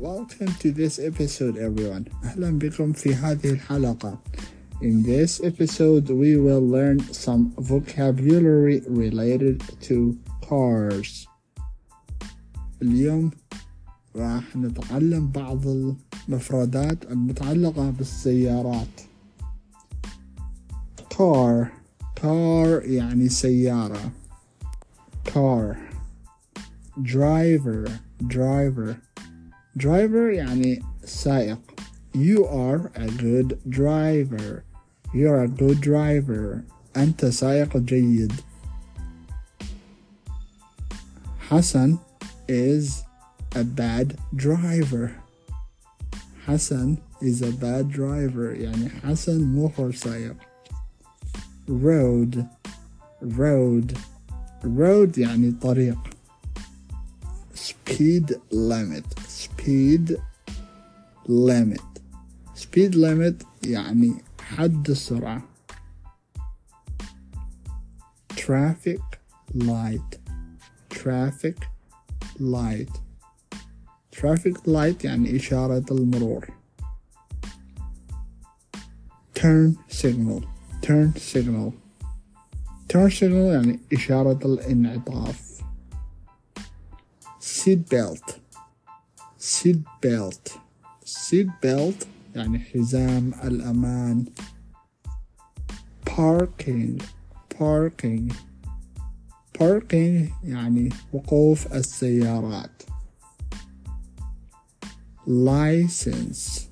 Welcome to this episode everyone. أهلا بكم في هذه الحلقة. In this episode we will learn some vocabulary related to cars. اليوم راح نتعلم بعض المفردات المتعلقة بالسيارات. car يعني سيارة. car. driver يعني سائق. You are a good driver. You're a good driver. أنت سائق جيد. Hassan is a bad driver. Hassan is a bad driver يعني حسن مو هو سائق. road يعني طريق. speed limit يعني حد السرعة. traffic light يعني إشارة المرور. turn signal يعني إشارة الانعطاف. seat belt يعني حزام الأمان. parking يعني وقوف السيارات. license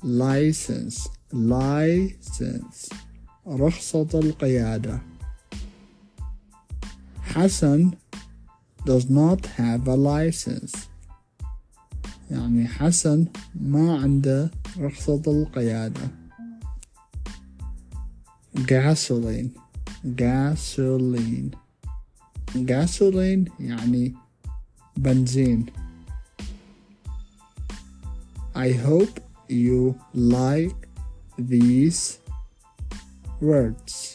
رخصة القيادة. Hassan does not have a license يعني حسن ما عنده رخصة القيادة. gasoline يعني بنزين. I hope you like these words.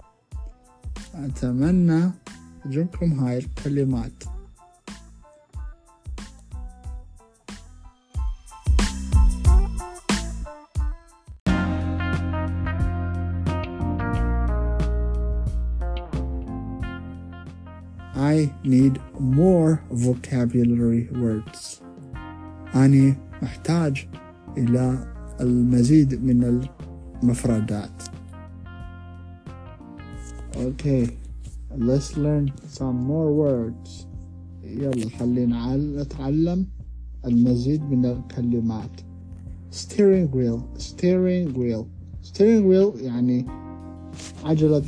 أتمنى تعجبكم هاي الكلمات. I need more vocabulary words. أنا محتاج إلى المزيد من المفردات. Okay, let's learn some more words. يلا خلينا نتعلم المزيد من الكلمات. steering wheel يعني عجلة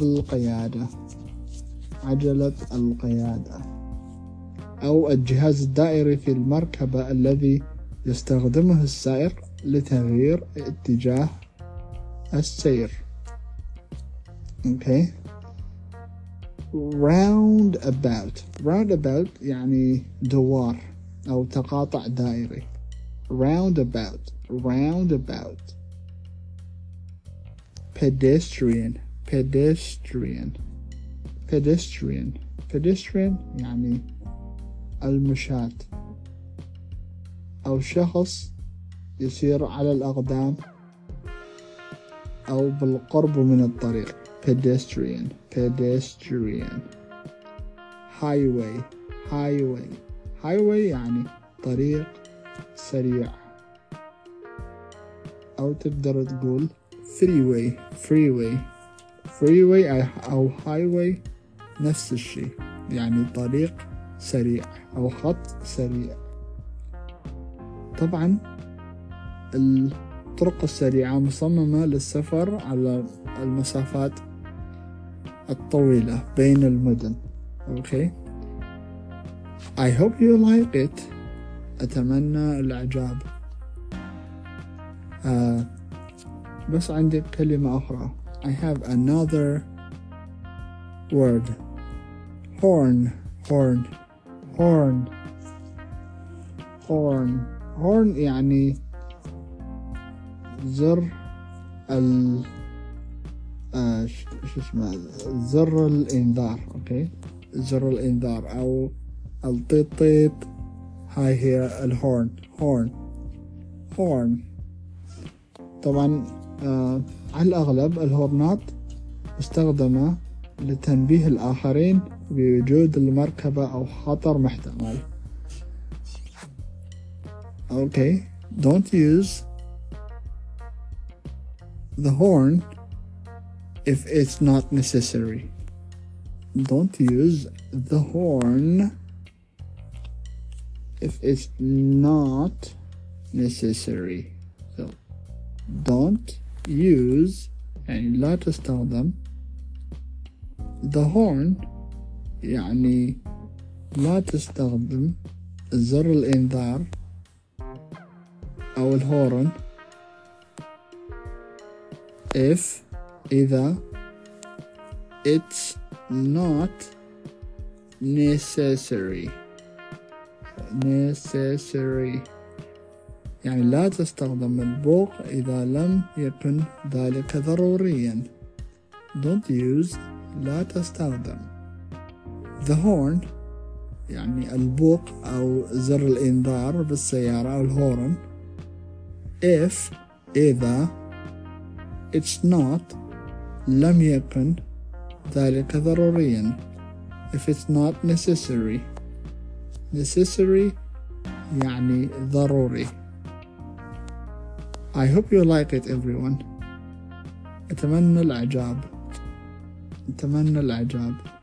القيادة أو الجهاز الدائري في المركبة الذي يستخدمه السائق لتغيير اتجاه السير. Okay. roundabout يعني دوار أو تقاطع دائري. roundabout. pedestrian يعني المشاة أو شخص يسير على الأقدام أو بالقرب من الطريق. pedestrian. highway يعني طريق سريع أو تقدر تقول freeway أو highway نفس الشيء يعني طريق سريع أو خط سريع. طبعا الطرق السريعة مصممة للسفر على المسافات الطويلة بين المدن. Okay. I hope you like it. أتمنى الإعجاب. بس عندي كلمة أخرى. I have another word. horn يعني زر زر الإنذار. أوكي. زر الإنذار أو الطيط. هاي هي الهورن. horn. طبعا على الأغلب الهورنات مستخدمة لتنبيه الآخرين بوجود المركبة أو خطر محتمل. Okay, don't use the horn if it's not necessary. Don't use the horn if it's not necessary. So don't use يعني لا تستخدم the horn يعني لا تستخدم زر الإنذار أو الهورن if إذا it's not necessary. يعني لا تستخدم البوق إذا لم يكن ذلك ضروريا. Don't use لا تستخدم the horn يعني البوق أو زر الإنذار بالسيارة أو الهورن if إذا it's not لم يكن ذلك ضروريا. if it's not necessary يعني ضروري. I hope you like it everyone. أتمنى الإعجاب.